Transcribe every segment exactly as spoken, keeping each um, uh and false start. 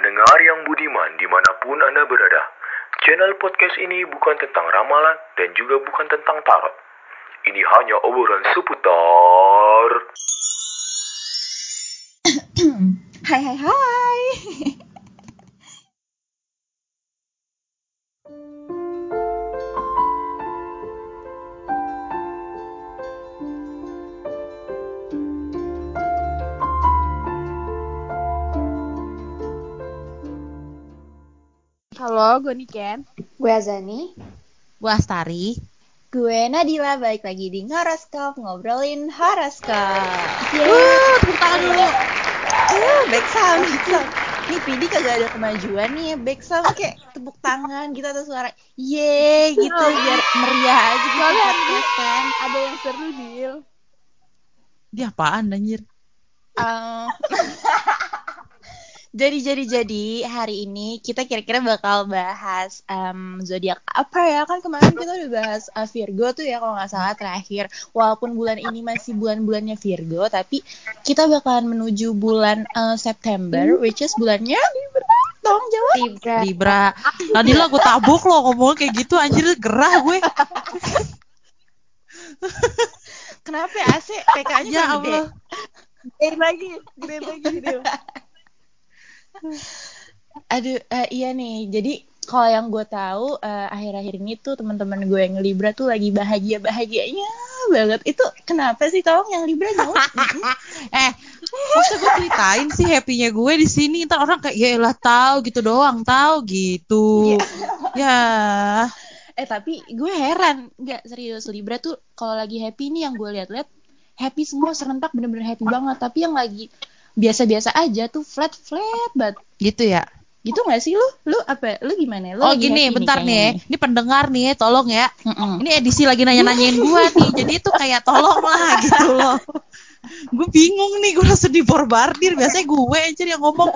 pendengar yang budiman dimanapun Anda berada. Channel podcast ini bukan tentang ramalan dan juga bukan tentang tarot. Ini hanya obrolan seputar... Hai hai hai. Halo, gue Niken. Gue Azani. Gue Astari. Gue Nadila, balik lagi di Horoskop, ngobrolin horoskop. Wuh, tepuk tangan dulu. Uh, back sound, back sound. Nih Pidi kagak ada kemajuan nih ya, back sound kayak tepuk tangan gitu atau suara yeay gitu biar meriah aja gitu Soalnya podcast kan. Ada yang seru, Dil. Dia apaan anjir? Uh, Jadi jadi jadi hari ini kita kira-kira bakal bahas um, zodiak apa ya, kan kemarin kita udah bahas uh, Virgo tuh ya kalau nggak salah terakhir. Walaupun bulan ini masih bulan-bulannya Virgo, tapi kita bakalan menuju bulan uh, September, which is bulannya tolong jawab. Libra. Libra. Tadi lah gue tabuk lo ngomong kayak gitu anjir, gerah gue. Kenapa ya A C P K-nya Ya gede? Allah. Gedein lagi, gedein lagi, Dil. Aduh, uh, iya nih. Jadi kalau yang gue tahu uh, akhir-akhir ini tuh teman-teman gue yang Libra tuh lagi bahagia-bahagianya banget. Itu kenapa sih, tolong yang Libra jawab? Eh, masa gue ceritain sih happy-nya gue di sini, ntar orang kayak ya elah tahu gitu doang, tahu gitu. Ya. Eh tapi gue heran, nggak serius, Libra tuh kalau lagi happy nih yang gue lihat-lihat happy semua serentak, bener-bener happy banget. Tapi yang lagi biasa-biasa aja tuh flat flat banget. Gitu ya. Gitu nggak sih lu? Lu apa? Lu gimana? Lu Oh lagi gini, happy bentar nih, nih, ya. Ini pendengar nih, tolong ya. Mm-mm. Ini edisi lagi nanya-nanyain gue nih, jadi itu kayak tolong lah gitu loh. Gue bingung nih, gue rasa diborbardir. Biasanya gue aja yang ngomong.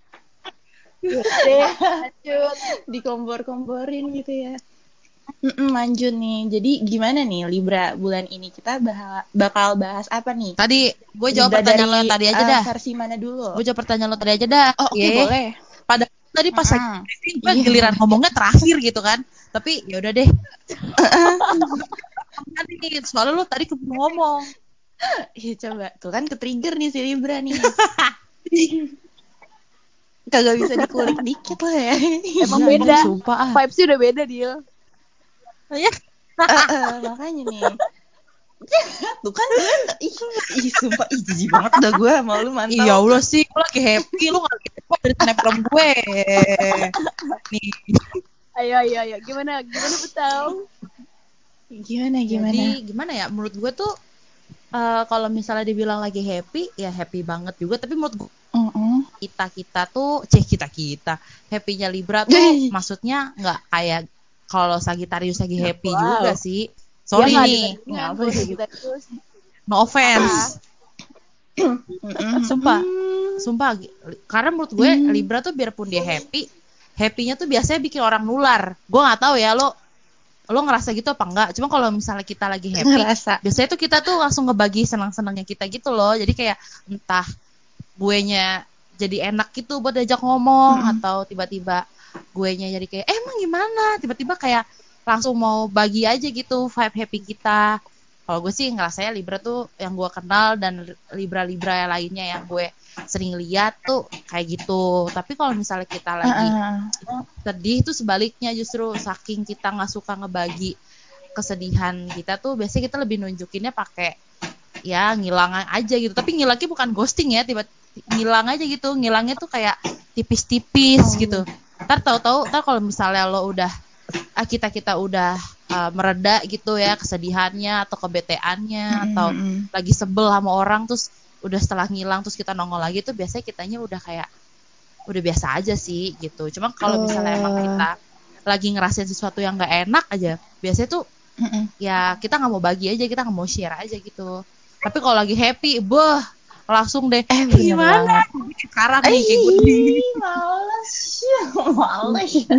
Deh, lanjut. Dikompor-komporin gitu ya. Mm-mm, lanjut nih. Jadi gimana nih Libra bulan ini, kita bah- bakal bahas apa nih? Tadi gue jawab Libra pertanyaan dari, lo yang tadi aja uh, dah. versi mana dulu? Gue jawab pertanyaan lo tadi aja dah. Oh oke, okay, Ye. boleh. Padahal tadi pas lagi Mm-mm. briefing gue Iya, giliran boleh. ngomongnya terakhir gitu kan. Tapi ya udah deh. Tadi soalnya lo tadi keburu ngomong. Iya coba, tuh kan ke-trigger nih si Libra nih. Kagak bisa dikulik dikit lah ya. Emang Iya, beda. anjir, sumpah ah. Vibes-nya udah beda, Dil. Ya. Uh, uh, makanya nih. Tuh kan, tuh kan. Ih, ih sumpah, ih jijik banget dah gue sama lu, mantap. Iya Allah sih, gue lagi happy, lu gak happy dari snapgram gue. Nih. Ayo, ayo, ayo. Gimana, gimana betul? Gimana, gimana? Jadi gimana ya, menurut gue tuh uh, kalau misalnya dibilang lagi happy, ya happy banget juga. Tapi menurut gue, Uh-uh. kita-kita tuh, cih kita-kita, happy-nya Libra tuh maksudnya gak kayak kalau Sagittarius lagi happy Wow. juga sih. Sorry Ya, nih, Ngapa Ngapa sih? sih kita terus? no offense. Mm-mm. Sumpah, sumpah. Karena menurut gue Hmm. Libra tuh biarpun dia happy, happy-nya tuh biasanya bikin orang nular. Gue nggak tahu ya lo, lo ngerasa gitu apa enggak? Cuma kalau misalnya kita lagi happy, Ngerasa. biasanya tuh kita tuh langsung ngebagi senang-senangnya kita gitu loh. Jadi kayak entah guenya jadi enak gitu buat diajak ngomong, Mm-mm. atau tiba-tiba guenya jadi kayak eh, emang gimana? Tiba-tiba kayak langsung mau bagi aja gitu vibe happy kita. Kalau gue sih ngerasanya Libra tuh yang gue kenal dan Libra-Libra lainnya yang gue sering lihat tuh kayak gitu. Tapi kalau misalnya kita lagi Uh-uh. sedih tuh sebaliknya, justru saking kita nggak suka ngebagi kesedihan kita tuh biasanya kita lebih nunjukinnya pakai ya ngilang aja gitu. Tapi ngilangnya bukan ghosting ya, tiba ngilang aja gitu. Ngilangnya tuh kayak tipis-tipis Oh. gitu. Ntar tahu-tahu ntar kalau misalnya lo udah ah, kita kita udah uh, mereda gitu ya kesedihannya atau kebeteannya, Mm-mm. atau lagi sebel sama orang, terus udah setelah ngilang terus kita nongol lagi tuh biasanya kitanya udah kayak udah biasa aja sih gitu. Cuma kalau misalnya emang kita lagi ngerasain sesuatu yang nggak enak aja, biasanya tuh Mm-mm. ya kita nggak mau bagi aja, kita nggak mau share aja gitu. Tapi kalau lagi happy, beuh langsung deh. Eh, Eh, bener gimana? Sekarang nih kayak gue nih. Ih, males ya, males ya.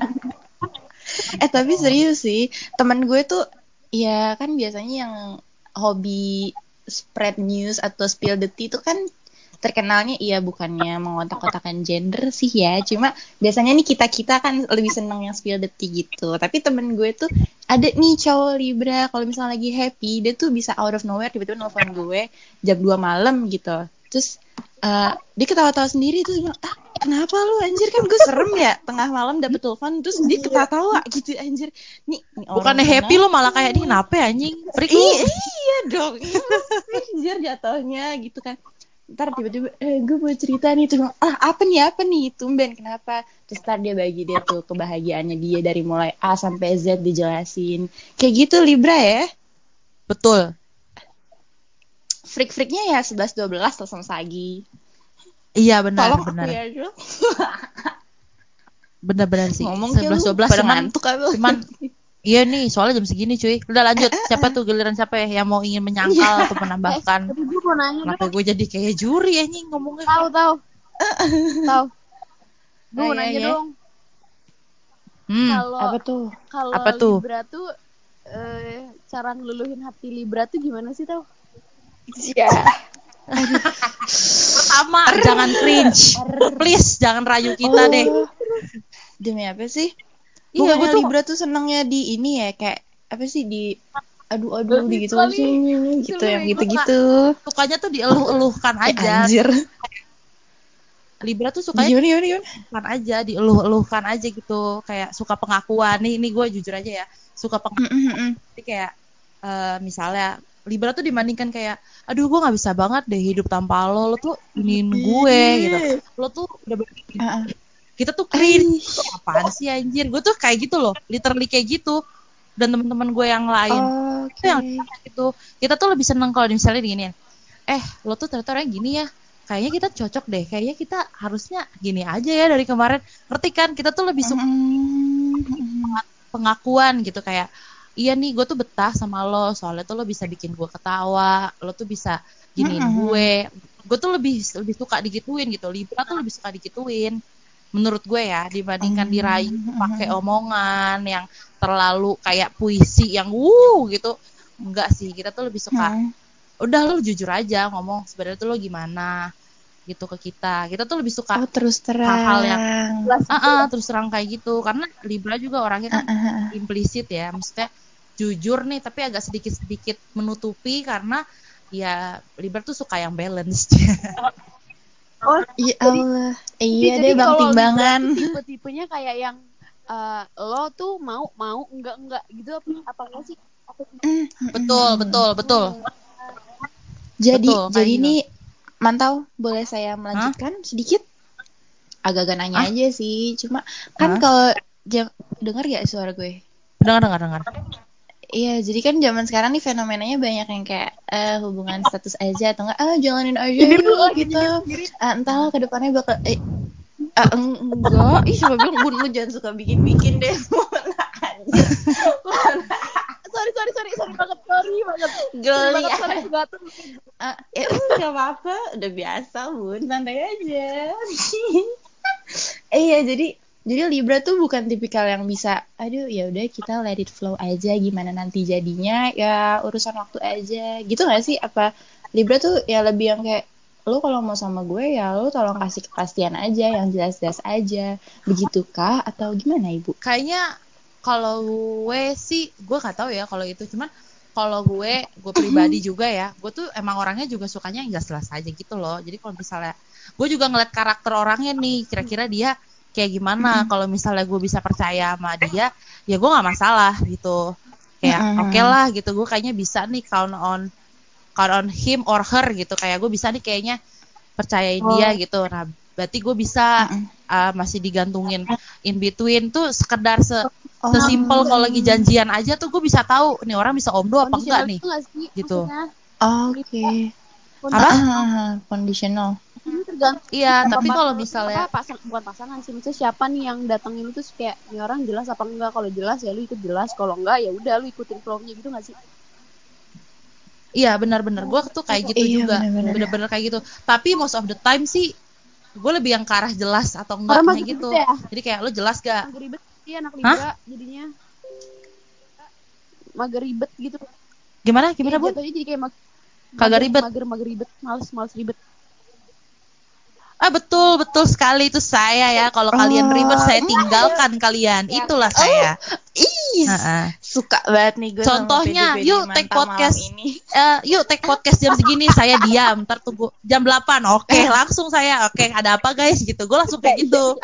Eh tapi serius sih, teman gue tuh ya kan biasanya yang hobi spread news atau spill the tea tuh kan terkenalnya iya bukannya mengotak-kotakan gender sih ya, cuma biasanya nih kita-kita kan lebih seneng yang spill the tea gitu. Tapi temen gue tuh ada nih cowok Libra, kalau misalnya lagi happy dia tuh bisa out of nowhere tiba-tiba nelfon gue jam dua malam gitu. Terus uh, dia ketawa-tawa sendiri terus bilang, ah kenapa lu anjir, kan gue serem ya tengah malam dapet telepon terus dia ketawa-tawa gitu anjir. Nih, nih orang Bukannya happy lo malah kayak ini kenapa? kenapa ya anjing? Freak lu. Iya, iya dong, iya anjir jatuhnya gitu kan. Ntar tiba-tiba eh gue mau cerita nih tuh, ah apa nih apa nih tumben kenapa, terus ntar dia bagi dia tuh kebahagiaannya dia dari mulai A sampai Z dijelasin kayak gitu. Libra ya, Betul. freak-freaknya ya sebelas dua belas langsung sagi. Iya benar Tolong benar. aku ya Jo. Benar-benar sih. Ngomong kayak sebelas lu dua belas pada cuman ngantuk apa? cuman iya nih, soalnya jam segini cuy. Udah lanjut. Siapa tuh giliran siapa ya yang mau ingin menyangkal atau Eh, menambahkan? tapi gue mau nanya Kenapa dong. gue jadi kayak juri anjing ngomongnya? Tahu tahu. Tahu. Gue Oh, mau iya, nanya iya. dong. Hmm, Kalau Apa tuh? kalau apa tuh? Libra tuh eh, cara ngeluluhin hati Libra tuh gimana sih tau? Ya. Pertama, jangan cringe. Please, jangan rayu kita deh. Oh, demi apa sih? Iya, gue Bukannya tuh Libra tuh senangnya di ini ya, kayak apa sih, di aduh-aduh di gitu Kali sih gitu lu yang bego. gitu-gitu. sukanya tuh dieluh-eluhkan Eh aja. anjir. Libra tuh Di sukanya gimana gimana gimana? dieluhkan aja, dieluh-eluhkan aja gitu. Kayak suka pengakuan. Nih, ini gue jujur aja ya. Suka pengakuan. Mm, mm, mm. Jadi kayak eh, misalnya Libra tuh dibandingkan kayak, aduh gue nggak bisa banget deh hidup tanpa lo, lo tuh iniin gue gitu, lo tuh udah begini, Ah, ah. kita tuh cringe, Aish. Lo apaan sih anjir, gue tuh kayak gitu loh, literally kayak gitu, dan teman-teman gue yang lain, itu Oke. yang kayak gitu, kita tuh lebih seneng kalau misalnya diginiin, eh lo tuh ternyata orangnya gini ya, kayaknya kita cocok deh, kayaknya kita harusnya gini aja ya dari kemarin, ngerti kan, kita tuh lebih suka Mm, mm, pengakuan gitu kayak iya nih gue tuh betah sama lo soalnya tuh lo bisa bikin gue ketawa, lo tuh bisa mm, giniin mm. gue gue tuh lebih lebih suka digituin gitu. Libra tuh lebih suka digituin menurut gue ya, dibandingkan dirayu Mm, pakai mm, omongan yang terlalu kayak puisi yang wuh gitu. Enggak sih, kita tuh lebih suka mm. udah lo jujur aja ngomong sebenarnya tuh lo gimana gitu ke kita, kita tuh lebih suka Oh terus hal-hal yang terang. Jelas ah gitu ah, ya. terus terang kayak gitu, karena Libra juga orangnya Ah, kan ah, ah. implisit ya, maksudnya jujur nih tapi agak sedikit-sedikit menutupi karena ya Libra tuh suka yang balance. Oh, Ya jadi Allah. jadi, Iya jadi deh Bang kalau Libra Timbangan. tuh tipe-tipenya kayak yang eh, lo tuh mau mau enggak enggak gitu apa apa enggak sih? Apa sih? Mm, mm, Betul, mm, mm. betul, betul, Jadi betul kayak jadi gitu. ini Mantau, boleh saya Hah? melanjutkan sedikit? Agak-agak nanya Ah? aja sih. Cuma kan Hah? kalau jam dengar gak suara gue? Dengar, dengar, dengar. Iya, jadi kan zaman sekarang nih fenomenanya banyak yang kayak eh, hubungan status aja atau enggak, ah jalanin aja Nyindir lu yuk lagi gitu. nyindir sendiri. Ah, entahlah ke depannya bakal eh, ah, eng- enggak. Ih, siapa bilang Bun lu jangan suka bikin-bikin deh. Mona anjir. Mona Sorry sorry sorry sorry banget sorry banget. Sorry geli banget ya. soalnya juga tuh. Ah, ya enggak apa-apa, udah biasa Bun, santai aja. Iya, jadi jadi Libra tuh bukan tipikal yang bisa, aduh ya udah kita let it flow aja, gimana nanti jadinya ya urusan waktu aja. Gitu gak sih? Apa Libra tuh ya lebih yang kayak lo kalau mau sama gue ya lo tolong kasih kepastian aja, yang jelas-jelas aja. Begitukah atau gimana Ibu? Kayaknya kalau gue sih gue nggak tahu ya kalau itu, cuman kalau gue gue pribadi juga ya, gue tuh emang orangnya juga sukanya yang jelas-jelas aja gitu loh. Jadi kalau misalnya gue juga ngeliat karakter orangnya nih, kira-kira dia kayak gimana, kalau misalnya gue bisa percaya sama dia ya gue nggak masalah gitu, kayak oke okay lah gitu, gue kayaknya bisa nih count on count on him or her gitu, kayak gue bisa nih kayaknya percayain dia gitu. Nah berarti gue bisa uh, masih digantungin in between tuh sekedar se sesimpel kalau lagi janjian aja tuh gue bisa tahu nih orang bisa omdo apa enggak Conditional nih itu nggak sih gitu. maksudnya? Oke. Apa? Ah, conditional. Ini tergantung Iya, siapa tapi kalau partner apa misalnya pasang bukan pasangan sih, maksudnya siapa nih yang datangin lu tuh kayak ini orang jelas apa enggak. Kalau jelas ya lu ikut jelas, kalau enggak ya udah lu ikutin flow-nya gitu nggak sih? iya benar-benar gue tuh kayak gitu Iya juga, benar-benar. bener-bener kayak gitu. Tapi most of the time sih gue lebih yang ke arah jelas atau Orang enggaknya mager ribet gitu. ya, Jadi kayak lo jelas gak? mager ribet sih anak Hah? Libra jadinya mager ribet gitu. Gimana? Iya Gimana Bun? jatuhnya jadi kayak mag- Kagak mager ribet. mager mager ribet, males males ribet. Ah betul betul sekali itu saya ya. Kalau kalian ribet saya Oh, tinggalkan kalian. Itulah saya. ih, Heeh. suka banget nih gue sama Contohnya, P D P D yuk take mantap malam podcast. ini. Eh, yuk take podcast jam segini saya diam. Ntar tunggu jam delapan. Oke, langsung saya. Oke, ada apa guys gitu. Gue langsung kayak gitu.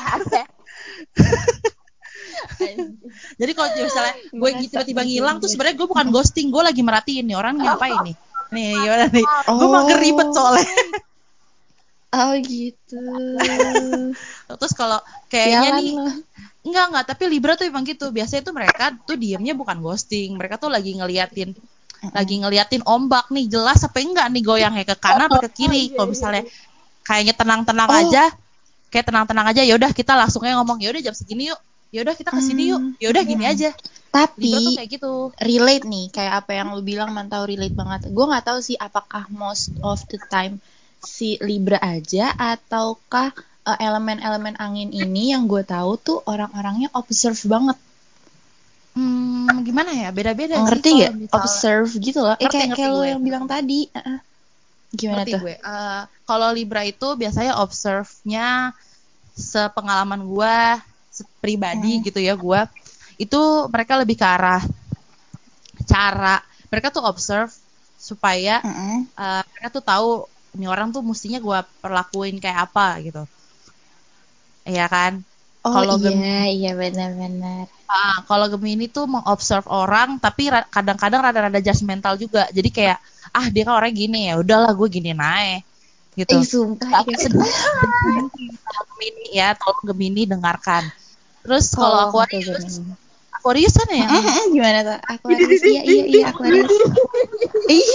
Jadi kalau misalnya gue Merasa tiba-tiba ngilang tuh tersindir. sebenarnya gue bukan ghosting, gue lagi merhatiin nih orang ngapain nih. Nih gimana nih? Gue Oh, mager ribet soalnya. oh gitu. Terus kalau kayaknya Sialan nih lo. enggak enggak, tapi Libra tuh emang gitu. Biasanya tuh mereka tuh diemnya bukan ghosting. Mereka tuh lagi ngeliatin lagi ngeliatin ombak nih jelas apa enggak nih goyangnya ke kanan apa ke kiri. Kalau misalnya kayaknya tenang-tenang Oh, aja, kayak tenang-tenang aja, ya udah kita langsungnya ngomong, ya udah jam segini yuk. Ya udah kita kesini yuk. hmm, Ya udah gini aja. Libra tuh tapi kayak gitu. relate nih kayak apa yang lu bilang, mantau relate banget. Gue nggak tahu sih apakah most of the time si Libra aja ataukah eh, elemen-elemen angin ini yang gue tahu tuh orang-orangnya observe banget. Hmm, gimana ya? Beda-beda sih Ngerti kalau gak? misal Observe gitu loh. Eh ngerti kayak ngerti kayak lo gue. yang bilang tadi. Uh-uh. Gimana Ngerti tuh? gue. Eh, kalau Libra itu biasanya observe-nya sepengalaman gue se- pribadi Mm. gitu ya gue. Itu mereka lebih ke arah cara mereka tuh observe supaya Mm-mm. eh, mereka tuh tahu ini orang tuh mestinya gue perlakuin kayak apa gitu. Iya kan? Oh Kalau iya, Gemini, iya benar-benar. ah, kalau Gemini tuh mengobserve orang tapi ra- kadang-kadang rada-rada judgmental juga. Jadi kayak ah dia kan orangnya gini ya, udahlah gue gini naik gitu. Eh sumpah Agak iya. sedih kalau Gemini ya, tolong Gemini dengarkan. Terus kalau Tolong oke Aquarius, Gemini. Aquarius kan yang Mm-mm, gimana tuh? Aquarius. Iya iya iya Aquarius. Ih,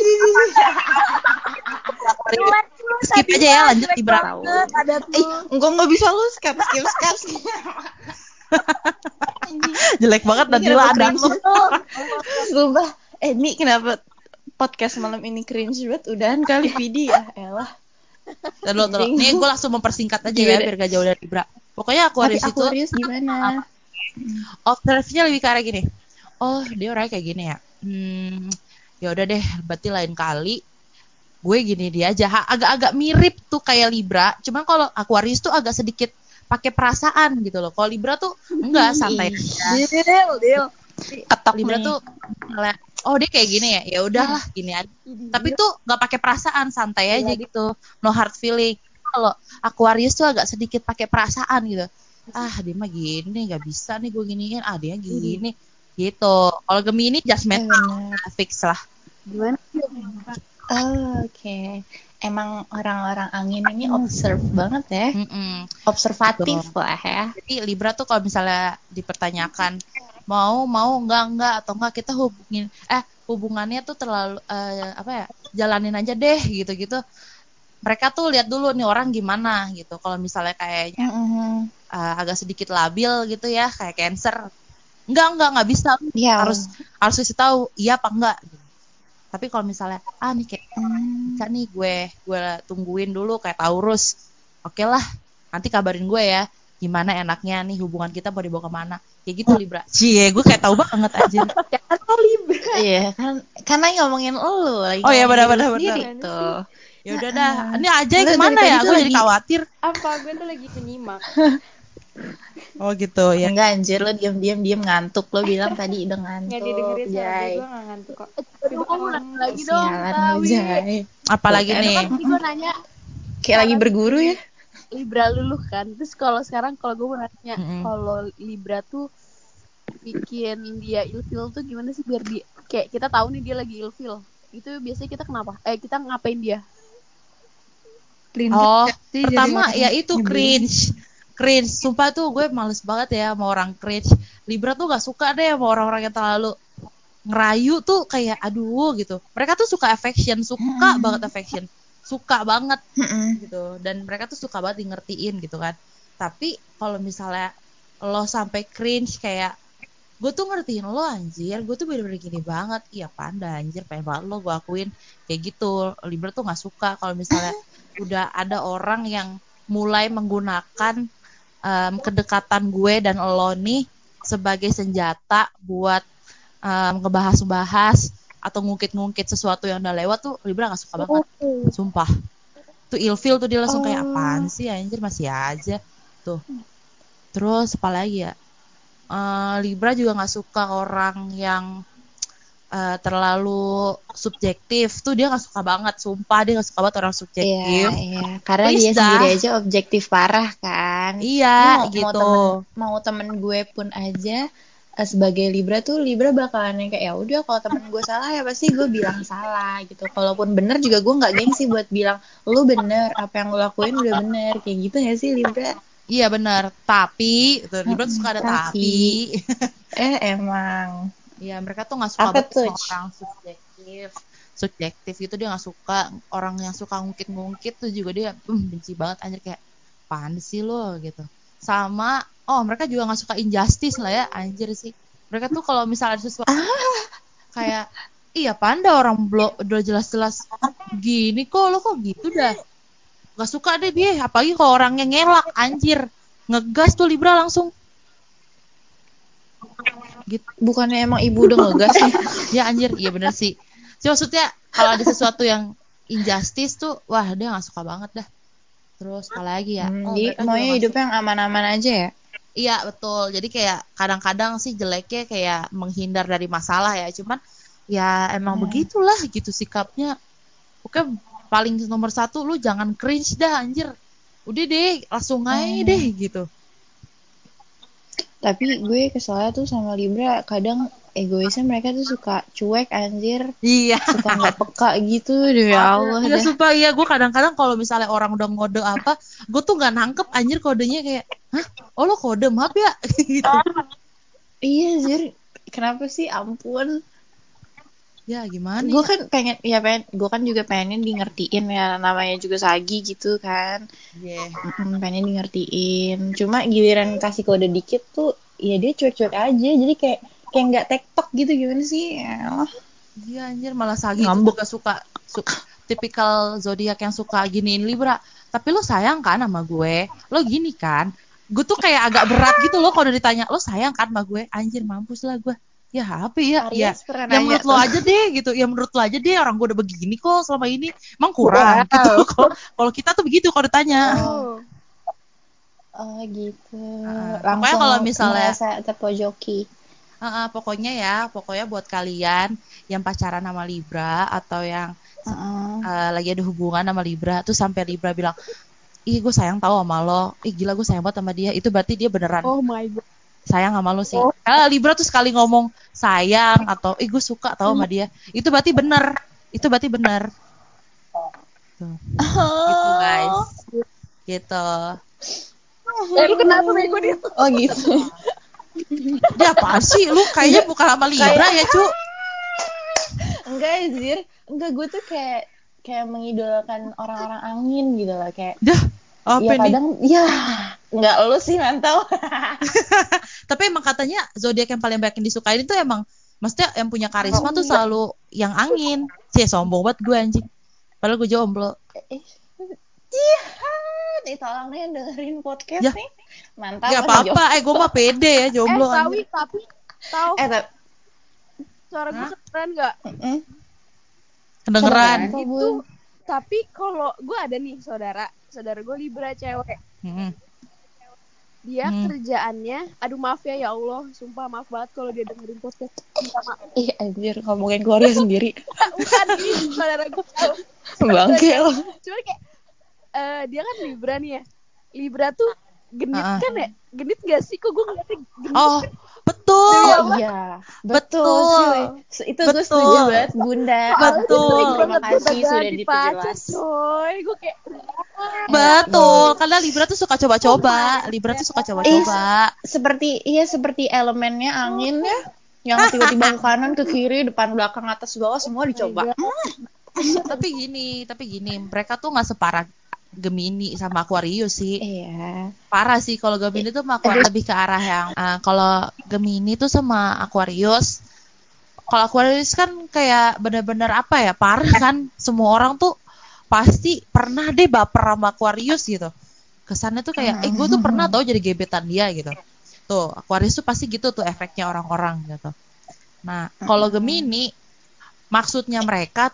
Aquarius. Jelek tuh Skip tadi aja ya, mah, lanjut jelek Libra. tahu. banget ada Eh, tuh. enggak nggak bisa lu skip skip skip. skip. Anjing. Jelek banget Ini dan kenapa diladang cringe? lo. Sumpah. Eh, ini kenapa podcast malam ini cringe banget? Udahan kali Vidi ya, elah. Dan lo, lo. Nih Bingung. gue langsung mempersingkat aja ya Gimana? biar gak jauh dari Libra. Pokoknya Tapi Aquarius itu Aquarius gimana? observe-nya lebih ke arah gini. Oh, dia orangnya kayak gini ya. Hmm, ya udah deh, berarti lain kali gue gini dia aja. Ha, agak-agak mirip tuh kayak Libra, cuman kalau Aquarius tuh agak sedikit pakai perasaan gitu loh. Kalau Libra tuh enggak, santai Ih, aja. Deal, deal. ketok Libra nih. tuh misalnya, oh dia kayak gini ya, ya udahlah gini aja. Tapi tuh nggak pakai perasaan, santai aja gitu, no hard feeling. Kalau Aquarius tuh agak sedikit pakai perasaan gitu. Ah dia mah gini, nggak bisa nih gue giniin. Ah dia gini, gitu. Kalau Gemini Eh judgmental, benar. fix lah. Gimana? Oh, oke. Emang orang-orang angin ini observe banget ya. Mm-mm, Observatif gitu. lah ya. Jadi Libra tuh kalau misalnya dipertanyakan mau mau enggak enggak atau enggak kita hubungin eh hubungannya tuh terlalu eh, apa ya jalanin aja deh gitu-gitu. Mereka tuh lihat dulu nih orang gimana gitu. Kalau misalnya kayaknya Mm-mm. eh, agak sedikit labil gitu ya kayak Cancer, enggak enggak enggak bisa Ya. harus harus kasih tahu iya apa enggak. Gitu. Tapi kalau misalnya ah nih kayak Hmm. bisa nih gue gue tungguin dulu kayak Taurus, oke lah nanti kabarin gue ya gimana enaknya nih hubungan kita mau dibawa kemana kayak gitu Libra. Cie gue kayak tahu banget aja. Atau Libra. Iya kan, karena ngomongin lu lagi Oh ya ngomongin benar diri benar sendiri benar. tuh. Ya udah dah Heeh. ini aja Lu dari kemana tadi ya tuh gue jadi lagi khawatir. Apa gue tuh lagi menyimak. Oh gitu ya. enggak anjir, lu diam-diam diam ngantuk, lu bilang tadi udah Nggak ngantuk, didengerin suara gue, Jay. gue nggak ngantuk kok. Coba kamu nanya lagi dong, Sialan lu, Tawi. Jay. Apalagi Tuh Itu nih. kan tadi gue nanya kayak lagi berguru ya. Libra luluh kan. Terus kalau sekarang kalau gue mau nanya, Mm-mm. kalau Libra tuh bikin dia ilfil tuh gimana sih biar dia kayak kita tahu nih dia lagi ilfil. Itu biasanya kita kenapa? Eh kita ngapain dia? Oh Sih jadi pertama orang ya itu nyebelin. cringe. Cringe, sumpah tuh gue males banget ya sama orang cringe. Libra tuh gak suka deh sama orang-orang yang terlalu ngerayu tuh kayak aduh gitu. Mereka tuh suka affection, suka Mm-mm. banget affection, suka banget Mm-mm. gitu. Dan mereka tuh suka banget di ngertiin gitu kan. Tapi kalau misalnya lo sampai cringe kayak gue tuh ngertiin lo anjir, gue tuh bener-bener gini banget, iya panda anjir, pengen banget lo gue akuin kayak gitu. Libra tuh nggak suka kalau misalnya udah ada orang yang mulai menggunakan em, kedekatan gue dan lo nih sebagai senjata buat em, ngebahas-bahas atau ngungkit-ngungkit sesuatu yang udah lewat tuh Libra nggak suka banget, sumpah. tuh ilfil tuh dia langsung kayak Oh. apaan sih anjir masih aja tuh. Terus apa lagi ya? Eh, Libra juga nggak suka orang yang eh, terlalu subjektif tuh dia nggak suka banget, sumpah dia nggak suka banget orang Iya, subjektif. iya. Karena Please dia dah. sendiri aja objektif parah kan. Iya Ini mau, mau gitu. temen mau temen gue pun aja eh, sebagai Libra tuh Libra bakalan yang kayak ya udah kalau temen gue salah ya pasti gue bilang salah gitu. Kalaupun bener juga gue nggak gengsi buat bilang lu bener apa yang lu lakuin udah bener kayak gitu ya sih Libra. Iya benar, tapi tuh, Libra tuh Mm-mm, suka ada tapi tapi. eh emang Iya mereka tuh nggak suka apa banget tuh? sama orang subjektif. Subjektif itu dia nggak suka, orang yang suka ngungkit-ngungkit tuh juga dia "Hmm, benci banget anjir kayak apaan sih lo gitu. Sama oh mereka juga nggak suka injustice lah ya anjir sih. Mereka tuh kalau misalnya ada sesuatu kayak iya panda orang blok udah jelas-jelas gini kok lo kok gitu dah. Gak suka deh dia, apalagi kalau orangnya ngelak anjir. Ngegas tuh Libra langsung gitu. Bukannya emang ibu udah ngegas nih? Ya anjir, iya bener sih. Cuma maksudnya kalau ada sesuatu yang injustice tuh, wah dia nggak suka banget dah. Terus apalagi ya? Hmm, Oh jadi mereka juga maunya nggak hidupnya suka. yang aman-aman aja ya? Iya betul. Jadi kayak kadang-kadang sih jeleknya kayak menghindar dari masalah ya. Cuman ya emang Hmm. begitulah gitu sikapnya. Oke paling nomor satu lu jangan cringe dah anjir. Udah deh langsung aja deh Hmm. gitu. Tapi gue keselnya tuh sama Libra kadang egoisnya mereka tuh suka cuek anjir, Iya. suka nggak peka gitu, demi Allah Iya dah. sumpah iya gue kadang-kadang kalau misalnya orang udah ngode apa, gue tuh nggak nangkep anjir kodenya kayak, hah? Oh lo kode maaf ya gitu. Iya anjir, kenapa sih ampun? Ya gimana Gue ya? kan pengen, ya pengen, gue kan juga pengen di ngertiin ya, namanya juga Sagi gitu kan. Iya. Mm-mm, pengen di ngertiin. Cuma giliran kasih kode dikit tuh, ya dia cuek-cuek aja, jadi kayak kayak nggak tektok gitu gimana sih? Yalah, Iya anjir malah Sagi itu ngambek. juga suka su- tipikal zodiak yang suka giniin Libra. Tapi lo sayang kan sama gue? Lo gini kan? Gue tuh kayak agak berat gitu loh kalau ditanya lo sayang kan sama gue? Anjir mampus lah gue. Ya apa ya? Ya, Aries pernah ya nanya menurut lo tuh. aja deh gitu. Ya menurut lo aja deh orang gue udah begini kok selama ini. Emang kurang gitu. Wow. Kalau kalau kita tuh begitu kalau ditanya. Oh, oh gitu. Heeh. Pokoknya Langsung kalau misalnya merasa terpojoki. heeh, pokoknya ya, pokoknya buat kalian yang pacaran sama Libra atau yang Heeh. eh, lagi ada hubungan sama Libra tuh sampai Libra bilang ih gue sayang tahu sama lo, ih gila gue sayang banget sama dia, itu berarti dia beneran Oh my god. sayang sama lo sih. Oh. Kalau Libra tuh sekali ngomong sayang atau ih gue suka tahu sama dia, itu berarti bener, itu berarti bener. Tuh, gitu guys, Oh. gitu. Eh lu kenapa bego dia? Oh gitu. Dia apa sih, lu kayaknya Enggak, bukan sama Libra kayak ya cu? enggak anjir. Enggak, gue tuh kayak kayak mengidolakan orang-orang angin gitu loh, kayak Dah, apa ya nih? kadang ya enggak lu sih mantau. Tapi emang katanya zodiak yang paling banyak yang disukain itu emang maksudnya yang punya karisma tuh Enggak. selalu yang angin. Cie sombong banget gue anjing. Padahal gue jomblo. Eh, iya, nih tolong nih yang dengerin podcast Ya, nih. Mantap gak masih apa-apa. jomblo. Eh, gue mah pede ya Eh jomblo Sawi anjir. tapi tahu Eh, tapi suara gue Hah? keren nggak? mm-mm. Kedengeran. Kedengeran kok, Itu Bun. tapi kalau gue ada nih saudara, saudara gue Libra cewek. Hmm. Dia Hmm. kerjaannya, aduh maaf ya ya Allah, sumpah maaf banget kalau dia dengerin podcast minta maaf. Ih, anjir ngomongin keluarga sendiri. Bukan ini saudara gue. Bangke lo. Cuma kayak eh, dia kan Libra nih ya. Libra tuh genit Uh-uh. kan ya? Genit gak sih? Kok gue ngeliatnya genit Oh, kan? betul. Demi Oh Allah. iya, betul, Betul. cuy. Se- Itu gue setuju Betul. banget, Bunda. Soalnya dia Betul. sering Terima banget kasih gonta sudah ganti pacar, diperjelas. coy. Gue kayak Eh, Betul. iya. Karena Libra tuh suka oh coba-coba. my Libra tuh suka god. Iya, coba-coba. seperti iya seperti elemennya angin ya, yang tiba-tiba ke kanan, ke kiri, depan, belakang, atas, bawah semua Oh my dicoba. god. Tapi gini, tapi gini, mereka tuh nggak separah Gemini sama Aquarius sih. Iya. Parah sih kalau Gemini tuh sama Aquarius lebih ke arah yang uh, kalau Gemini tuh sama Aquarius. Kalau Aquarius kan kayak bener-bener apa ya, parah kan. Semua orang tuh pasti pernah deh baper sama Aquarius gitu. Kesannya tuh kayak, eh gue tuh pernah tau jadi gebetan dia gitu. Tuh, Aquarius tuh pasti gitu tuh efeknya orang-orang gitu. Nah, kalau Gemini maksudnya mereka tuh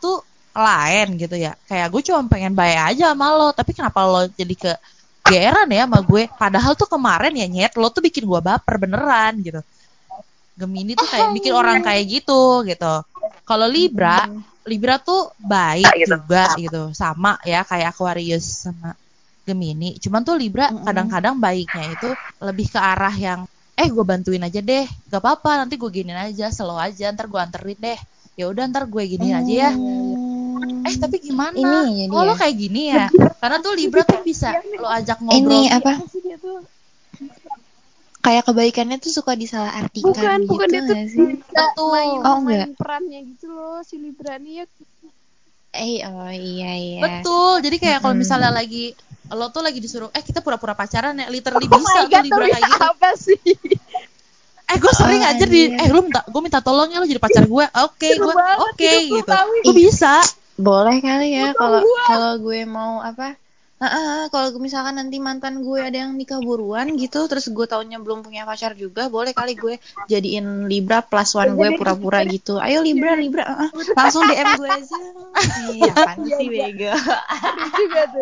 lain gitu ya. Kayak gue cuma pengen baik aja sama lo, tapi kenapa lo jadi ke geeran ya sama gue? Padahal tuh kemarin ya nyet, lo tuh bikin gue baper beneran gitu. Gemini tuh kayak bikin orang kayak gitu gitu. Kalau Libra, Libra tuh baik juga gitu, sama ya kayak Aquarius sama Gemini. Cuman tuh Libra kadang-kadang baiknya itu lebih ke arah yang eh gue bantuin aja deh, gak apa-apa nanti gue giniin aja, slow aja, ntar gue anterin deh. Ya udah ntar gue giniin aja ya. Eh tapi gimana? Ini jadi Oh lo ya. kayak gini ya? Karena tuh Libra tuh bisa lo ajak ngobrol. Ini apa? Apa sih dia tuh? Kayak kebaikannya tuh suka disalahartikan Bukan, gitu bukan dia tuh nggak sih? bisa Betul. main, Oh, main enggak. perannya gitu loh si Libra nih ya. Eh, oh iya iya. Betul. Jadi kayak kalau Mm-mm. misalnya lagi lo tuh lagi disuruh eh kita pura-pura pacaran ya, literally Oh bisa my tuh God, Libra tapi kayak gitu. apa sih? Eh gue sering Oh, aja di anjir. eh lu minta gue minta tolong ya lo jadi pacar gue. Oke, Seru gue banget oke hidup lu, gitu. Tawi. Gue bisa. Boleh kali ya kalau gua. kalau gue mau apa? Heeh, kalau misalkan nanti mantan gue ada yang nikah buruan gitu, terus gue taunya belum punya pacar juga, boleh kali gue jadiin Libra plus one gue pura-pura gitu. Ayo Libra, Libra, heeh. Langsung D M gue aja. Iya, apaan Iya, sih iya. bego. Seru juga tuh.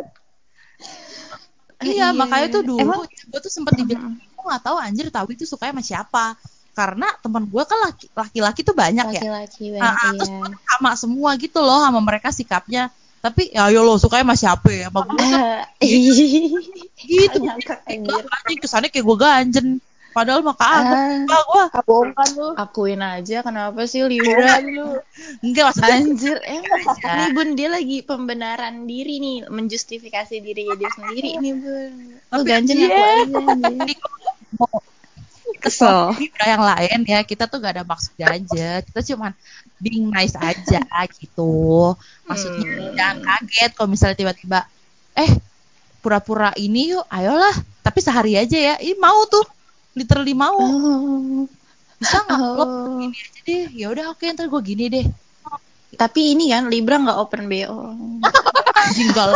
Iya, makanya tuh dulu Emang gue tuh sempet dibilang gue nggak tahu anjir Tawi tuh sukanya sama siapa. Karena teman gue kan laki- laki-laki tuh banyak ya. laki-laki Nah, banyak terus iya. sama semua gitu loh sama mereka sikapnya. Tapi ya ayo lo sukanya sama siapa ya? Sama gue kan Eh, gitu. ngakak anjir. Anjing kesannya kayak gue ganjen. Padahal mah kagak. Ah, Enggak gue. Bohong kan lu. akuin aja kenapa sih Bohong Libra? kan lu. Enggak maksudnya Anjir, emang aja. nih Bun dia lagi pembenaran diri nih, menjustifikasi dirinya dia sendiri nih Bun. Lu Tapi ganjen iya. aku aja anjir. Jadi mau Kesel. Libra yang lain ya kita tuh gak ada maksud aja. Kita cuman being nice aja gitu. Maksudnya Hmm. jangan kaget kalau misalnya tiba-tiba eh pura-pura ini yuk, ayolah. Tapi sehari aja ya. Ini mau tuh, literally mau. Oh. Bisa nggak lo Oh. gini aja deh? Ya udah oke ntar gue gini deh. Tapi ini kan Libra nggak open B O. Anjing gal.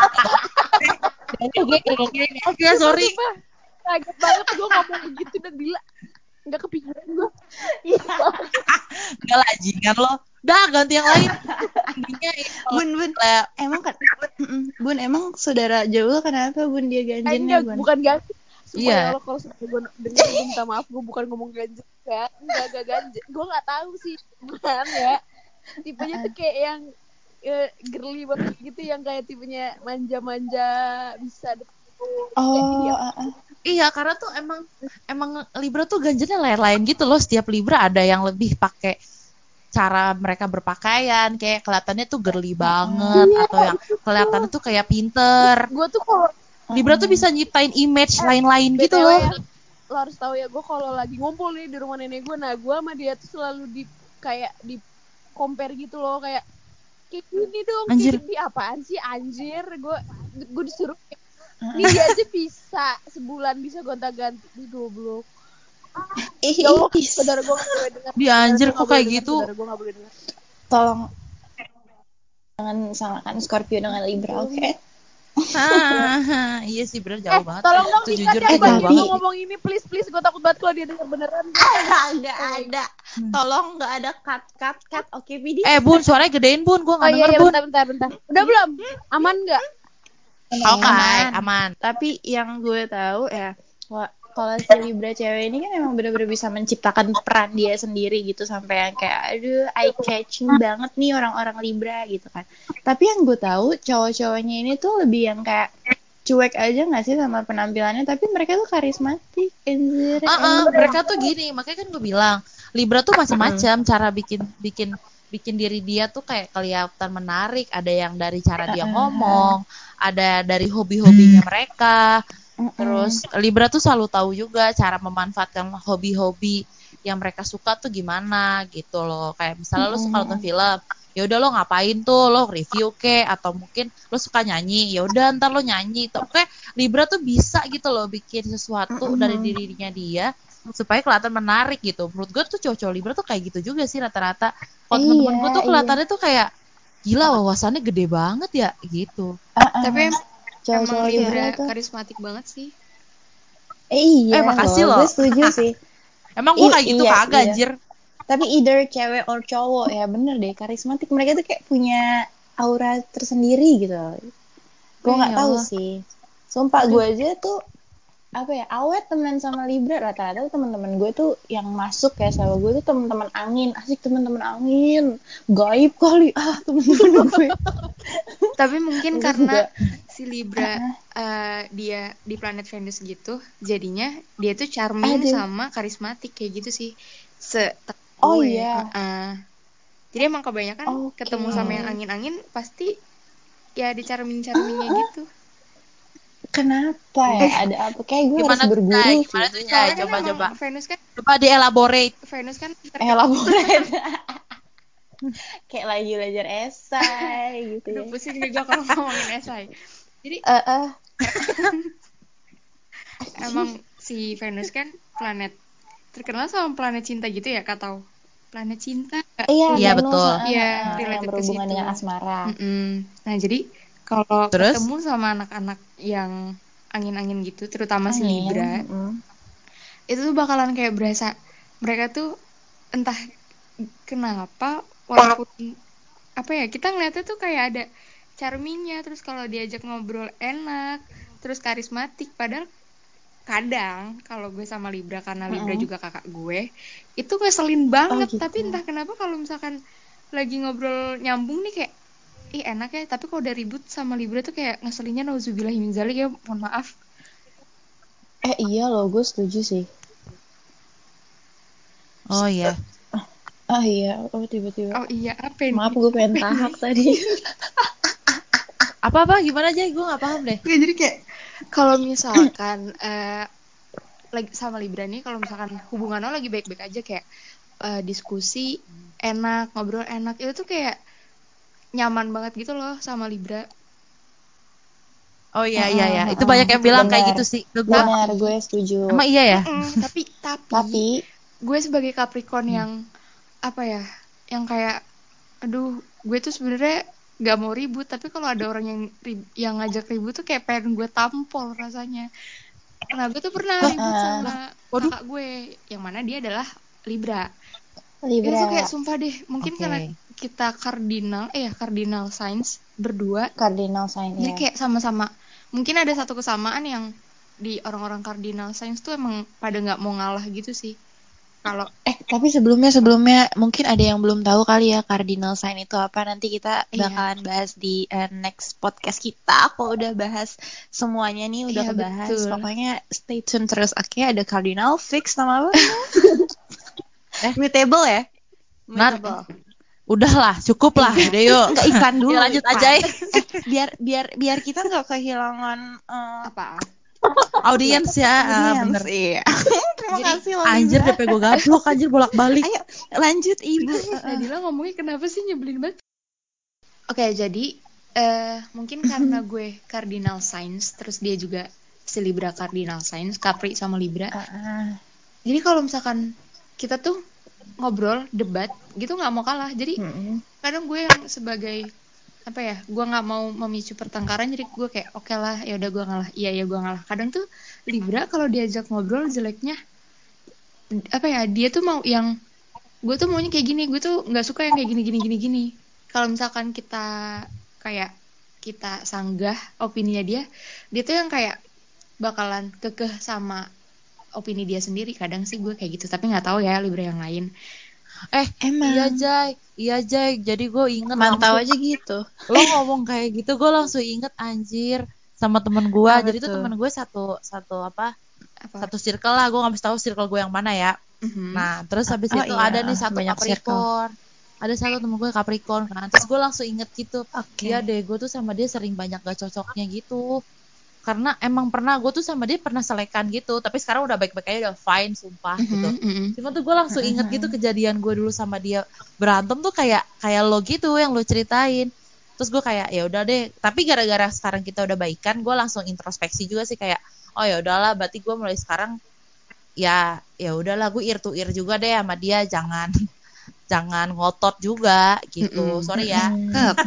Oke gue oke oke sorry. Sumpah, kaget banget gue ngomong begitu udah gila. Nggak kepikiran gue. Enggak lah anjingan lo. Dah ganti yang lain. Intinya ini kalau Bun Bun, misalnya emang kan Mm-mm. Bun emang saudara jauh kenapa Bun dia Eh, ganjennya enggak, Bun? bukan ganjen. Sumpah Iya. ya Allah kalau sudah gue denger gue minta maaf, gue bukan ngomong ganjen ya. Enggak, enggak ganjen. Gue nggak tahu sih gimana ya. Tipenya tuh kayak yang eh, girly banget gitu, yang kayak tipenya manja-manja, bisa deket. Oh, Kayak dia. ah, ah. Iya, karena tuh emang emang Libra tuh ganjennya lain-lain gitu loh. Setiap Libra ada yang lebih pakai cara mereka berpakaian, kayak kelihatannya tuh girly banget, Iya, atau yang kelihatannya tuh kayak pinter. gue tuh kalau Libra tuh bisa nyiptain image lain-lain gitu B T W loh. ya, lo harus tahu ya, gue kalau lagi ngumpul nih di rumah nenek gue, nah gue sama dia tuh selalu di kayak di compare gitu loh, kayak kayak gini dong, Anjir. kayak gini apaan sih anjir, gue gue disuruh kayak, ini dia aja bisa sebulan bisa gonta-ganti di goblok. Ih, Ya Allah, ih, saudara gue gak boleh dengar. Dia anjir kok kayak gitu. Saudara gue gak boleh dengar. tolong jangan samakan Scorpio dengan Libra, oke? Ah, iya sih bener jauh Eh, banget. tolong dong Itu dikat jujur ya, tuh gue jauh lagi banget. mau ngomong ini, please please, gue takut banget kalau dia dengar beneran. Nggak ada. Tolong nggak ada cut cut cut. Oke, Vidi. Eh Bun, suaranya gedein Bun, gue Oh nggak iya, denger iya, Bun. bentar bentar bentar. Udah belum? Aman nggak? Oke, Aman. aman. Tapi yang gue tahu ya, wah, kalau si Libra cewek ini kan emang bener-bener bisa menciptakan peran dia sendiri gitu, sampai yang kayak aduh eye catching banget nih orang-orang Libra gitu kan. Tapi yang gue tahu cowok-cowoknya ini tuh lebih yang kayak cuek aja nggak sih sama penampilannya, tapi mereka tuh karismatik. Anjir, Ah, ah, emang. mereka tuh gini, makanya kan gue bilang Libra tuh macam-macam cara bikin bikin bikin diri dia tuh kayak kelihatan menarik. Ada yang dari cara dia ngomong, ada dari hobi-hobinya mereka. Terus Libra tuh selalu tahu juga cara memanfaatkan hobi-hobi yang mereka suka tuh gimana gitu loh. Kayak misalnya lo suka nonton film, ya udah lo ngapain tuh, lo review ke, atau mungkin lo suka nyanyi, ya udah ntar lo nyanyi. Oke, Libra tuh bisa gitu loh bikin sesuatu dari dirinya dia supaya kelihatan menarik gitu. Menurut gue tuh cowok-cowok Libra tuh kayak gitu juga sih rata-rata. Kalau teman-teman gue tuh kelihatannya tuh kayak gila, wawasannya gede banget ya gitu. Tapi em- Cowok-cowok emang Libra Libra tuh. karismatik banget sih. Eh, Eh, iya makasih loh, loh. gue setuju sih. Emang gue I- kayak gitu iya, kagak iya. anjir. Tapi either cewek or cowok ya bener deh, karismatik. Mereka tuh kayak punya aura tersendiri gitu. Gue Oh, nggak ya tahu Allah. sih. Sumpah Aduh. gue aja tuh apa ya awet temenan sama Libra, rata-rata tuh teman-teman gue tuh yang masuk ya sama gue tuh teman-teman angin, asik teman-teman angin, gaib kali ah teman-teman gue. Tapi mungkin Enggak, karena enggak. si Libra eh, dia di planet Venus gitu, jadinya dia tuh charming Aduh. sama karismatik kayak gitu sih. Se Oh gue. iya. Heeh. Jadi emang kebanyakan Oke. ketemu sama yang angin-angin pasti ya di charming-charmingnya gitu. Kenapa ya? Ada apa? Kayak gue Gimana harus tuh, berguru Jai? sih. Gimana tuh, Jai? Soalnya kan Coba, emang coba. Venus kan Coba di-elaborate. Venus kan Elaborate. Kayak lagi belajar esai gitu aduh ya. pusing deh gue kalau ngomongin esai. Jadi Eh, eh. emang si Venus kan planet terkenal sama planet cinta gitu ya, Kak tahu? Planet cinta. Iya, Iya, Venus, betul. eh, Iya, eh, eh, yang related ke berhubungan situ. dengan asmara. Mm-mm. Nah, jadi kalau Terus? ketemu sama anak-anak yang angin-angin gitu, terutama si Angin, Libra, mm. itu tuh bakalan kayak berasa mereka tuh entah kenapa walaupun apa ya, kita ngeliatnya tuh kayak ada charmingnya, terus kalau diajak ngobrol enak, terus karismatik, padahal kadang kalau gue sama Libra, karena Libra Mm-mm. juga kakak gue, itu ngeselin banget. gitu. Tapi entah kenapa kalau misalkan lagi ngobrol nyambung nih kayak ih enak ya, tapi kalau udah ribut sama Libra tuh kayak ngeselinnya nauzubillahi min dzalik ya, mohon maaf. Eh iya loh, gue setuju sih. Oh iya. Ah iya, oh tiba-tiba. Oh iya, apa ini? Maaf, gue pengen tahak tadi. Apa-apa? Gimana, Jai? Gue nggak paham deh. Oke, jadi kayak kalau misalkan eh, lagi sama Libra nih, kalau misalkan hubungan lo lagi baik-baik aja, kayak eh, diskusi enak, ngobrol enak, itu tuh kayak nyaman banget gitu loh sama Libra. Oh iya, iya, iya. Itu Mm-mm, banyak yang bilang kayak benar. gitu sih ke gue. Benar, gue setuju. Emang iya ya? Mm-mm, tapi tapi Tapi gue sebagai Capricorn Hmm. yang apa ya, yang kayak aduh, gue tuh sebenarnya nggak mau ribut, tapi kalau ada orang yang rib- yang ngajak ribut tuh kayak pengen gue tampol rasanya. Nah, gue tuh pernah Lah, ribut uh, sama waduh. kakak gue yang mana dia adalah Libra. Itu tuh Libra, kayak sumpah deh, mungkin Oke. karena kita kardinal eh ya cardinal signs berdua, cardinal sign jadi ya. kayak sama-sama mungkin ada satu kesamaan yang di orang-orang cardinal signs tuh emang pada nggak mau ngalah gitu sih. Kalau Eh, tapi sebelumnya sebelumnya mungkin ada yang belum tahu kali ya cardinal sign itu apa. Nanti kita Iya. bakalan bahas di uh, next podcast kita. Aku udah bahas semuanya nih, udah Iya, kebahas. betul. Pokoknya stay tune terus. Oke, ada cardinal fix nama apa? Eh. Mutable ya? Nat. Mutable. Udahlah, cukup lah. Iya. Udah yuk. Enggak, iklan dulu. Yuk lanjut iklan. aja ya. Eh, biar biar biar kita nggak kehilangan uh, apa? Audiens ya. Ah, audiens. bener. Iya. Terima Jadi, kasih loh, Anjir, Libra. D P gue gablok. Anjir, bolak-balik. Ayo lanjut Ibu. Nadila ngomongnya kenapa sih nyebelin banget? Oke, jadi eh mungkin karena gue cardinal signs, terus dia juga si Libra cardinal signs, Capri sama Libra. Uh, Jadi kalau misalkan kita tuh ngobrol, debat, gitu nggak mau kalah. Jadi mm-mm. kadang gue yang sebagai apa ya, gue nggak mau memicu pertengkaran, jadi gue kayak oke lah, ya udah gue ngalah, iya ya gue ngalah. Kadang tuh Libra kalau diajak ngobrol jeleknya apa ya, dia tuh mau yang gue tuh maunya kayak gini, gue tuh nggak suka yang kayak gini gini gini gini. Kalau misalkan kita kayak kita sanggah opininya dia, dia tuh yang kayak bakalan kekeh sama opini dia sendiri. Kadang sih gue kayak gitu, tapi nggak tahu ya Libra yang lain. Eh, Emang. iya Jai, iya Jai. Jadi gue inget Mantau langsung, aja gitu. lo ngomong kayak gitu, gue langsung inget anjir sama temen gue. Apa Jadi tuh tuh? temen gue satu satu apa? Apa? Satu circle lah. Gue nggak bisa tahu circle gue yang mana ya. Mhm. Nah, terus habis Oh itu iya, ada nih satu banyak Capricorn. Ada satu temen gue Capricorn kan. Terus gue langsung inget gitu. Oke. Iya deh, gue tuh sama dia sering banyak gak cocoknya gitu. Karena emang pernah gue tuh sama dia pernah selekan gitu, tapi sekarang udah baik-baik aja, udah fine sumpah Mhm, gitu. mhm. Cuma tuh gue langsung inget gitu kejadian gue dulu sama dia berantem tuh kayak kayak lo gitu yang lo ceritain. Terus gue kayak ya udah deh, tapi gara-gara sekarang kita udah baikan, gue langsung introspeksi juga sih kayak oh ya udahlah, berarti gue mulai sekarang ya ya udahlah, gue ear to ear juga deh sama dia, jangan jangan ngotot juga gitu. Mm-mm. Sorry ya. Kep.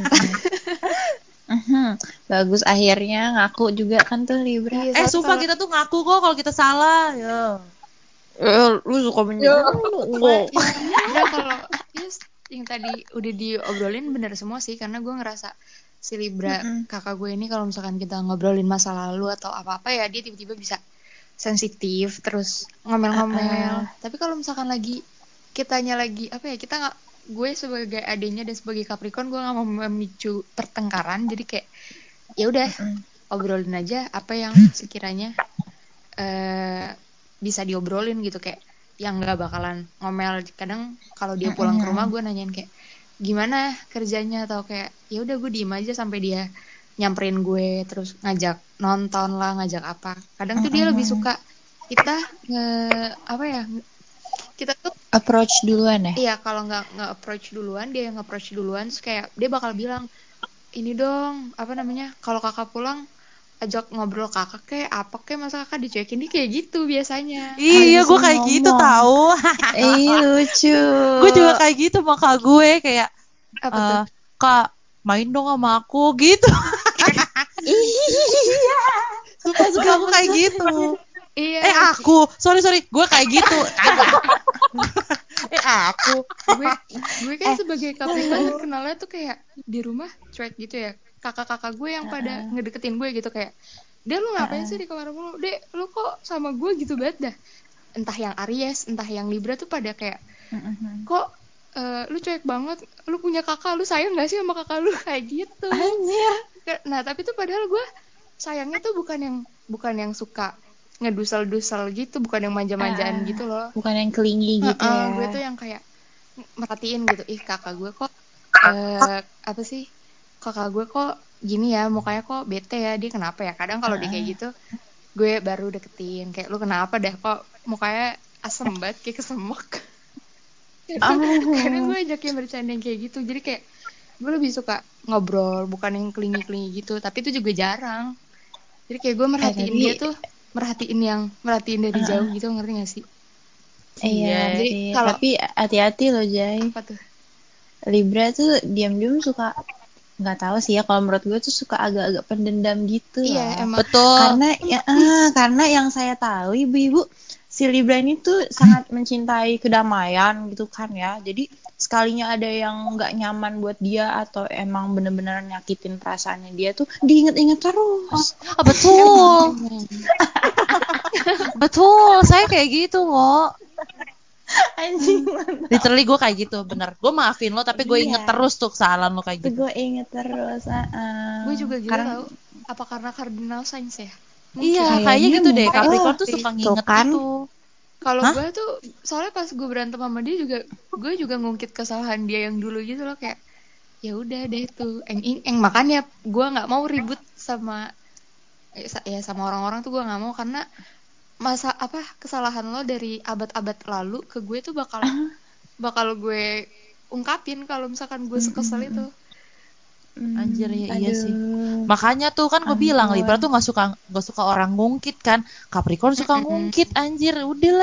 Mhm. Bagus, akhirnya ngaku juga kan tuh Libra. Iya, Eh soalnya sumpah kalau- kita tuh ngaku kok kalau kita salah. Ya. Eh, lu suka menyebut lu. Ya, Libra kalau yes, yang tadi udah diobrolin bener semua sih, karena gue ngerasa si Libra Mm-mm. kakak gue ini kalau misalkan kita ngobrolin masa lalu atau apa-apa ya dia tiba-tiba bisa sensitif terus ngomel-ngomel. Uh-uh. Tapi kalau misalkan lagi kitanya lagi apa ya, kita nggak, gue sebagai adiknya dan sebagai Capricorn gue nggak mau memicu pertengkaran, jadi kayak ya udah Mm-mm. obrolin aja apa yang sekiranya eh bisa diobrolin gitu, kayak yang nggak bakalan ngomel. Kadang kalau dia pulang ke rumah gue nanyain kayak gimana kerjanya, atau kayak ya udah gue diem aja sampai dia nyamperin gue terus ngajak nonton lah, ngajak apa. Kadang tuh dia lebih suka kita nge apa ya, kita tuh Approach duluan ya. iya kalau nggak nge approach duluan, dia yang approach duluan, terus kayak dia bakal bilang ini dong apa namanya, kalau kakak pulang ajak ngobrol kakak kayak apa kayak, masa kakak dicuekin, dia kayak gitu biasanya. Iya, gue Langsung kayak gitu ngomong. tahu. Ih, lucu. Gue juga kayak gitu sama kak gue kayak Apa tuh? eh kak main dong sama aku gitu. Iya. Sumpah sumpah aku kayak gitu. Iya Eh aku, sorry sorry, gue kayak gitu. Kagak. eh aku. gue gue kan Eh. sebagai Capricorn kenalnya tuh kayak di rumah cuek gitu ya, kakak-kakak gue yang pada ngedeketin gue gitu kayak, Dek lu ngapain sih di kamar mulu, Dek lu kok sama gue gitu banget dah. Entah yang Aries entah yang Libra tuh pada kayak kok eh, lu cuek banget, lu punya kakak, lu sayang gak sih sama kakak lu, kayak gitu. Anjir. Nah tapi tuh padahal gue sayangnya tuh bukan yang bukan yang suka ngedusel-dusel gitu, bukan yang manja-manjaan Ah, gitu loh. bukan yang kelingi gitu Heeh, ya. gue tuh yang kayak merhatiin gitu, ih kakak gue kok eh apa sih, kakak gue kok gini ya mukanya, kok bete ya, dia kenapa ya. Kadang kalau dia kayak gitu gue baru deketin kayak, lu kenapa dah kok mukanya asem banget kayak kesemek. kadang, kadang gue Oh. ajakin bercanda yang kayak gitu, jadi kayak gue lebih suka ngobrol bukan yang kelingi-kelingi gitu, tapi itu juga jarang. Jadi kayak gue Eh merhatiin tapi dia tuh merhatiin yang merhatiin dari jauh gitu, ngerti gak sih? iya, Iya. Jadi sih. kalau Tapi hati-hati loh, Jay. apa tuh? Libra tuh diam-diam suka, nggak tahu sih ya, kalau menurut gue tuh suka agak-agak pendendam gitu Iya lah. emang. Betul. Karena ya, ah, karena yang saya tahu ibu-ibu, si Libra ini tuh sangat mencintai kedamaian gitu kan ya. Jadi sekalinya ada yang nggak nyaman buat dia atau emang bener-bener nyakitin perasaannya dia tuh diinget-inget terus. Ah, betul. Emang. Betul, saya kayak gitu kok. Anjing. Literally gue kayak gitu, bener. Gue maafin lo tapi gue inget Iya. terus tuh kesalahan lo kayak gitu. Gue inget terus. Uh, Gue juga gitu karena tau. Apa karena cardinal signs ya? Iya, Mungkin. kayaknya gitu deh. mungkin. Capricorn Oh, tuh suka tuh nginget kan. gitu. Kalau Hah? gue tuh soalnya pas gue berantem sama dia juga, gue juga ngungkit kesalahan dia yang dulu gitu loh, kayak ya udah deh tuh eng eng eng, makanya gue nggak mau ribut sama eh, sa- ya sama orang-orang tuh gue nggak mau, karena masa apa kesalahan lo dari abad-abad lalu ke gue tuh bakal bakal gue ungkapin kalau misalkan gue sekesel itu. Anjir ya, iya sih. Aduh. Makanya tuh kan gue bilang Ampun. Libra tuh nggak suka nggak suka orang ngungkit kan. Capricorn suka ngungkit, anjir. Udahlah.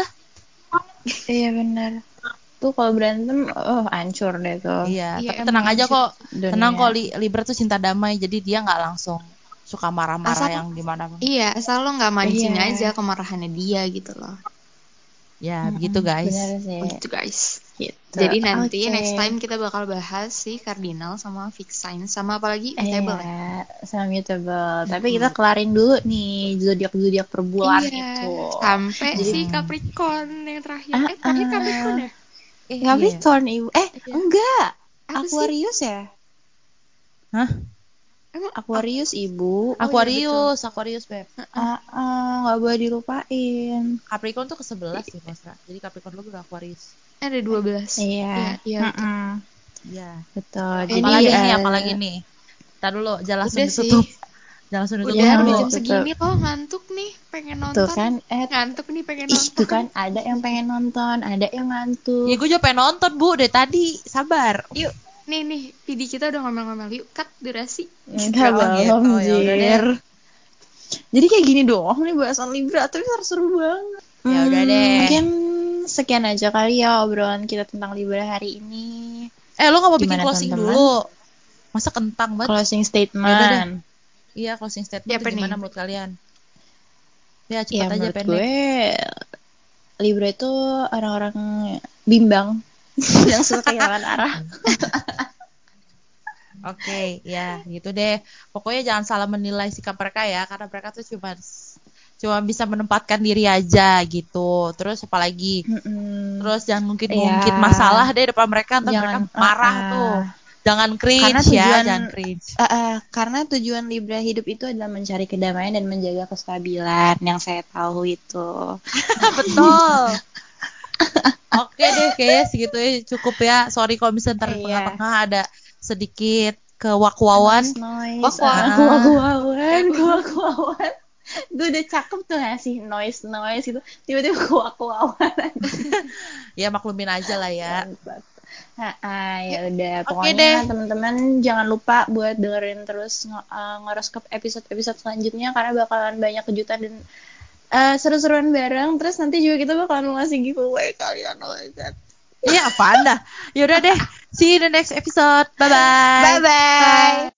Iya benar. Tuh kalau berantem, oh hancur deh tuh. Iya, Iya, tapi emang tenang aja hancur kok. dunia. Tenang kok, Li- Libra tuh cinta damai, jadi dia nggak langsung suka marah-marah Asal yang gimana. iya asal lo nggak mancing Iya. aja kemarahannya dia gitu loh. Ya, Mm-mm, begitu guys. Benar sih. Begitu guys. Gitu. Jadi nanti Oke. next time kita bakal bahas si cardinal sama fixed sign sama apalagi mutable ya. Iya, sama mutable. Tapi kita Mm-mm. kelarin dulu nih zodiak-zodiak per bulan Iya, itu. sampai Jadi si Capricorn yang terakhir. ah, Eh, terakhir ah. Capricorn ya? Eh, iya. Capricorn ibu. Eh, Iya. enggak. Apa sih? Aquarius ya? Hah? Emang Aquarius ibu. Oh, iya, Aquarius, Aquarius, Beb. Ah, ah, nggak boleh dilupain. Capricorn tuh ke sebelas sih, Mas. Jadi Capricorn lu udah Aquarius. ada dua belas. Iya. Iya, betul. Mm-mm. Iya. Betul. Ini, Jadi Apalagi nih, eh, apalagi nih. Ntar dulu, jangan langsung Udah sih. ditutup. Jangan langsung ditutup Udah, Jangan udah dulu. jam ditutup. segini lo ngantuk nih, pengen nonton. Tuh kan, eh, Ngantuk nih pengen ih, nonton. tuh kan ada yang pengen nonton, ada yang ngantuk. Ya gue juga pengen nonton, Bu, dari tadi. Sabar. Yuk, nih nih, P D kita udah ngomel-ngomel. Yuk, cut durasi. Enggak Oh, gitu. belum, Oh, ya udah deh. Jir. Jadi kayak gini doang nih bahasan Libra, tapi seru banget. Ya udah Hmm, deh. Mungkin sekian aja kali ya obrolan kita tentang Libra hari ini. Eh, lu gak mau bikin Gimana, closing teman-teman? dulu? Masa kentang banget? Closing Ya udah deh. statement. Iya, closing statement Ya, tuh apa gimana nih? menurut kalian? Ya, Ya cepet aja menurut pendek. gue Libra itu orang-orang bimbang. yang suka kehilangan arah. Oke, ya gitu deh. Pokoknya jangan salah menilai sikap mereka ya, karena mereka tuh cuma cuma bisa menempatkan diri aja gitu. Terus apalagi? Mm-mm. Terus jangan ngungkit-ngungkit Ya. masalah deh depan mereka, ntar mereka Jangan, marah uh-uh. tuh. Jangan Karena cringe ya, tujuan jangan cringe. uh, uh, karena tujuan Libra hidup itu adalah mencari kedamaian dan menjaga kestabilan yang saya tahu itu. Betul. Oke deh, kayaknya segitu ya cukup ya. Sorry kalau misalnya ntar di Iya. tengah-tengah ada sedikit kewak-wawan. Noise, noise, Wak-wak. uh, Ah. kuak-kuawan, kuak-kuawan. Gue udah cakep tuh ngasih noise, noise itu. Tiba-tiba kuak-kuawan. Ya maklumin aja lah ya. Nah, ah, ya udah. Oke Pokoknya deh. teman-teman jangan lupa buat dengerin terus nge- uh, ngoroskop episode-episode selanjutnya karena bakalan banyak kejutan dan uh, seru-seruan bareng. Terus nanti juga kita bakalan ngasih giveaway kalian. Oh my god. Iya apaan dah. Yaudah deh. See you in the next episode. Bye-bye. Bye-bye.